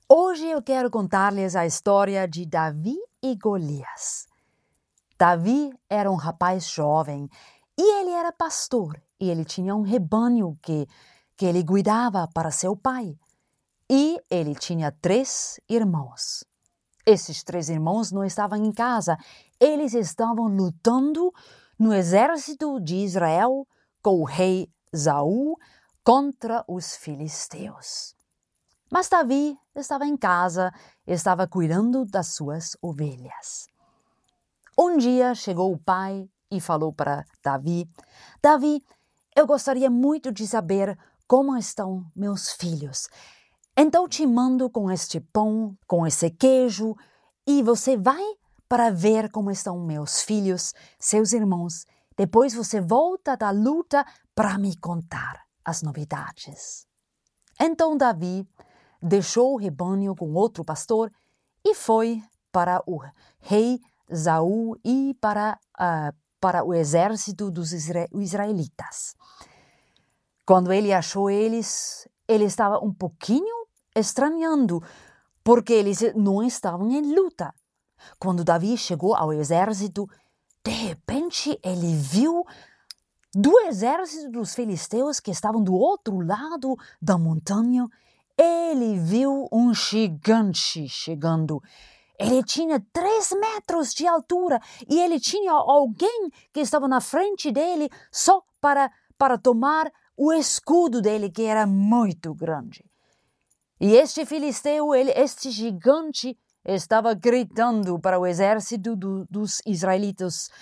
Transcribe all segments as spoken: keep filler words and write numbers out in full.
Hoje eu quero contar-lhes a história de Davi e Golias. Davi era um rapaz jovem e ele era pastor e ele tinha um rebanho que, que ele cuidava para seu pai. E ele tinha três irmãos. Esses três irmãos não estavam em casa, eles estavam lutando no exército de Israel com o rei Saul contra os filisteus. Mas Davi estava em casa, estava cuidando das suas ovelhas. Um dia chegou o pai e falou para Davi: Davi, eu gostaria muito de saber como estão meus filhos. Então te mando com este pão, com esse queijo, e você vai para ver como estão meus filhos, seus irmãos. Depois você volta da luta para me contar as novidades. Então Davi deixou o rebanho com outro pastor e foi para o rei Saul e para, uh, para o exército dos isra- israelitas. Quando ele achou eles, ele estava um pouquinho estranhando, porque eles não estavam em luta. Quando Davi chegou ao exército, de repente ele viu do exército dos filisteus que estavam do outro lado da montanha, ele viu um gigante chegando. Ele tinha três metros de altura e ele tinha alguém que estava na frente dele só para, para tomar o escudo dele, que era muito grande. E este filisteu, ele, este gigante, estava gritando para o exército do, dos israelitas: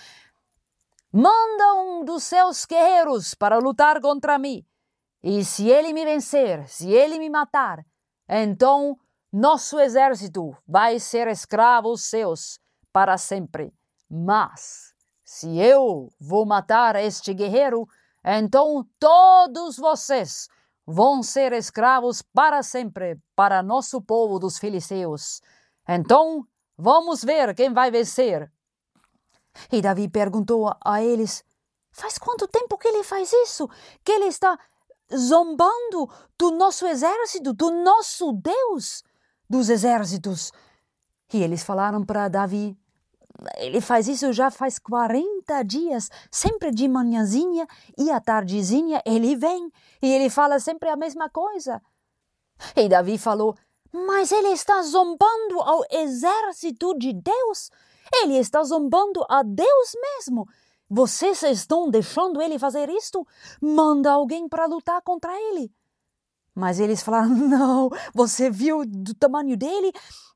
manda um dos seus guerreiros para lutar contra mim. E se ele me vencer, se ele me matar, então nosso exército vai ser escravos seus para sempre. Mas se eu vou matar este guerreiro, então todos vocês vão ser escravos para sempre para nosso povo dos filisteus. Então vamos ver quem vai vencer. E Davi perguntou a eles: faz quanto tempo que ele faz isso? Que ele está zombando do nosso exército, do nosso Deus dos exércitos? E eles falaram para Davi: ele faz isso já faz quarenta dias, sempre de manhãzinha e à tardezinha ele vem e ele fala sempre a mesma coisa. E Davi falou: mas ele está zombando ao exército de Deus, ele está zombando a Deus mesmo. Vocês estão deixando ele fazer isto? Manda alguém para lutar contra ele. Mas eles falaram: não, você viu do tamanho dele?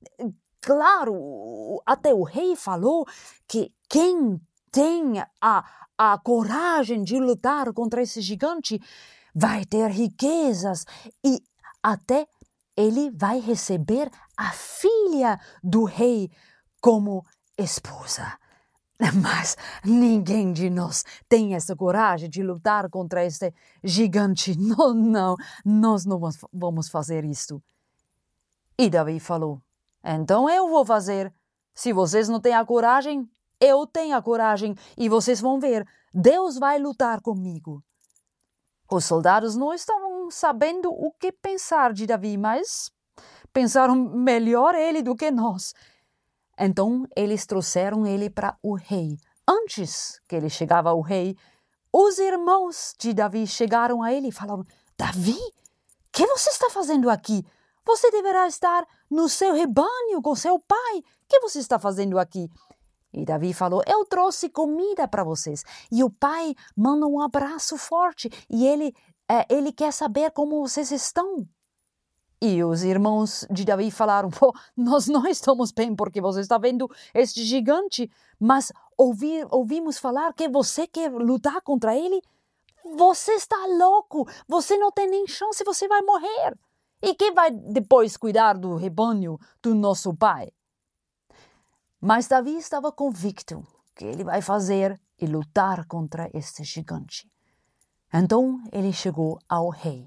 Claro, até o rei falou que quem tem a, a coragem de lutar contra esse gigante vai ter riquezas e até ele vai receber a filha do rei como esposa. Mas ninguém de nós tem essa coragem de lutar contra este gigante. Não, não, nós não vamos fazer isso. E Davi falou: então eu vou fazer. Se vocês não têm a coragem, eu tenho a coragem e vocês vão ver. Deus vai lutar comigo. Os soldados não estavam sabendo o que pensar de Davi, mas pensaram melhor ele do que nós. Então eles trouxeram ele para o rei. Antes que ele chegava ao rei, os irmãos de Davi chegaram a ele e falaram: Davi, o que você está fazendo aqui? Você deverá estar no seu rebanho com seu pai. O que você está fazendo aqui? E Davi falou: eu trouxe comida para vocês. E o pai manda um abraço forte e ele, é, ele quer saber como vocês estão. E os irmãos de Davi falaram: pô, nós não estamos bem porque você está vendo este gigante, mas ouvi, ouvimos falar que você quer lutar contra ele. Você está louco, você não tem nem chance, você vai morrer. E quem vai depois cuidar do rebanho do nosso pai? Mas Davi estava convicto que ele vai fazer e lutar contra este gigante. Então ele chegou ao rei.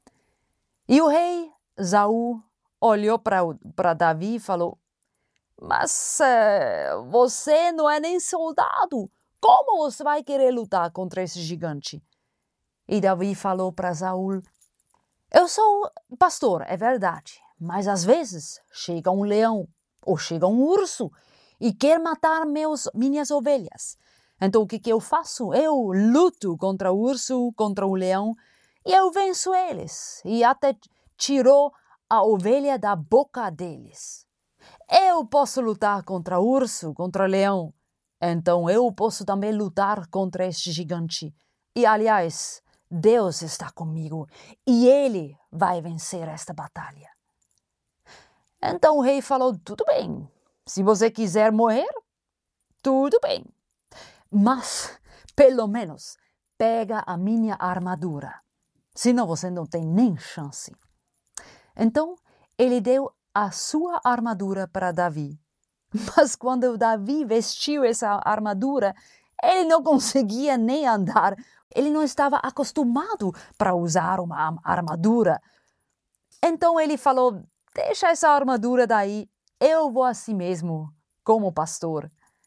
E o rei Saul olhou para Davi e falou: mas uh, você não é nem soldado. Como você vai querer lutar contra esse gigante? E Davi falou para Saul: eu sou pastor, é verdade, mas às vezes chega um leão ou chega um urso e quer matar meus, minhas ovelhas. Então o que, que eu faço? Eu luto contra o urso, contra o leão e eu venço eles. E até tirou a ovelha da boca deles. Eu posso lutar contra o urso, contra o leão. Então eu posso também lutar contra este gigante. E aliás, Deus está comigo e Ele vai vencer esta batalha. Então o rei falou, tudo bem, se você quiser morrer, tudo bem. Mas, pelo menos, pega a minha armadura, senão você não tem nem chance. Então ele deu a sua armadura para Davi. Mas quando Davi vestiu essa armadura, ele não conseguia nem andar. Ele não estava acostumado para usar uma armadura. Então ele falou, deixa essa armadura daí, eu vou assim mesmo, como pastor.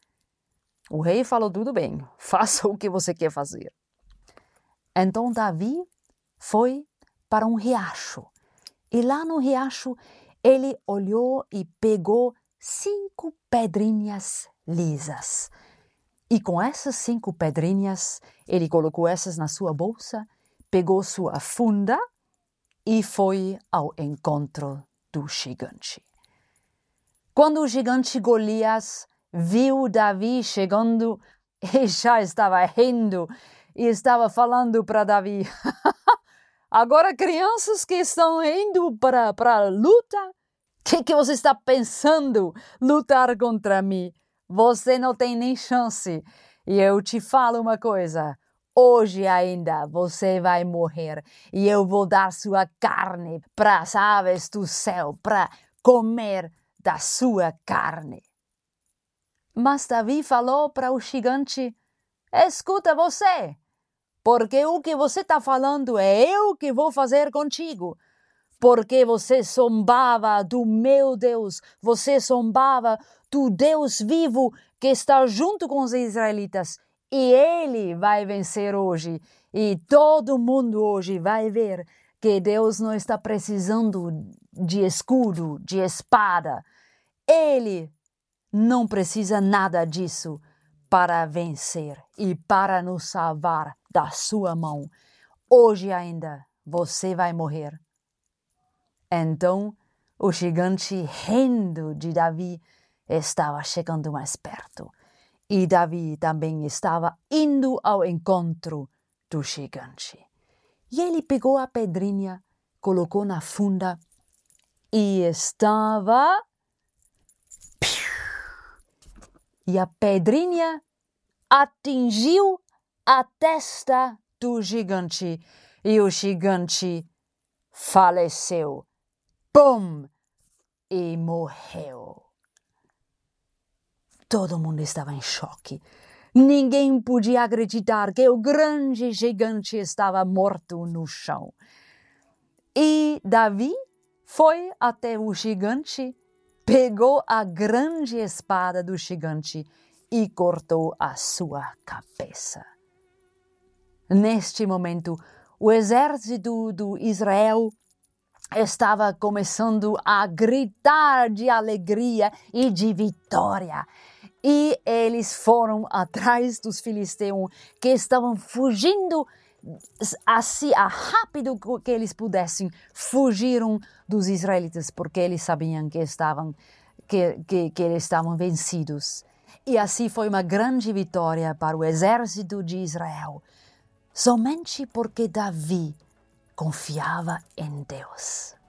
O rei falou, tudo bem, faça o que você quer fazer. Então Davi foi para um riacho. E lá no riacho, ele olhou e pegou cinco pedrinhas lisas. E com essas cinco pedrinhas, ele colocou essas na sua bolsa, pegou sua funda e foi ao encontro do gigante. Quando o gigante Golias viu Davi chegando, ele já estava rindo e estava falando para Davi, agora crianças que estão indo para, para a luta, o que, que você está pensando lutar contra mim? Você não tem nem chance. E eu te falo uma coisa, hoje ainda você vai morrer e eu vou dar sua carne para as aves do céu, para comer da sua carne. Mas Davi falou para o gigante, escuta você, porque o que você está falando é eu que vou fazer contigo. Porque você zombava do meu Deus, você zombava do Deus vivo que está junto com os israelitas. E Ele vai vencer hoje. E todo mundo hoje vai ver que Deus não está precisando de escudo, de espada. Ele não precisa nada disso para vencer e para nos salvar da sua mão. Hoje ainda você vai morrer. Então, o gigante, rindo de Davi, estava chegando mais perto. E Davi também estava indo ao encontro do gigante. E ele pegou a pedrinha, colocou na funda e estava... E a pedrinha atingiu a testa do gigante. E o gigante faleceu. Pum! E morreu. Todo mundo estava em choque. Ninguém podia acreditar que o grande gigante estava morto no chão. E Davi foi até o gigante, pegou a grande espada do gigante e cortou a sua cabeça. Neste momento, o exército do Israel estava começando a gritar de alegria e de vitória. E eles foram atrás dos filisteus que estavam fugindo assim, a rápido que eles pudessem. Fugiram dos israelitas porque eles sabiam que estavam, que, que, que eles estavam vencidos. E assim foi uma grande vitória para o exército de Israel. Somente porque Davi confiava em Deus.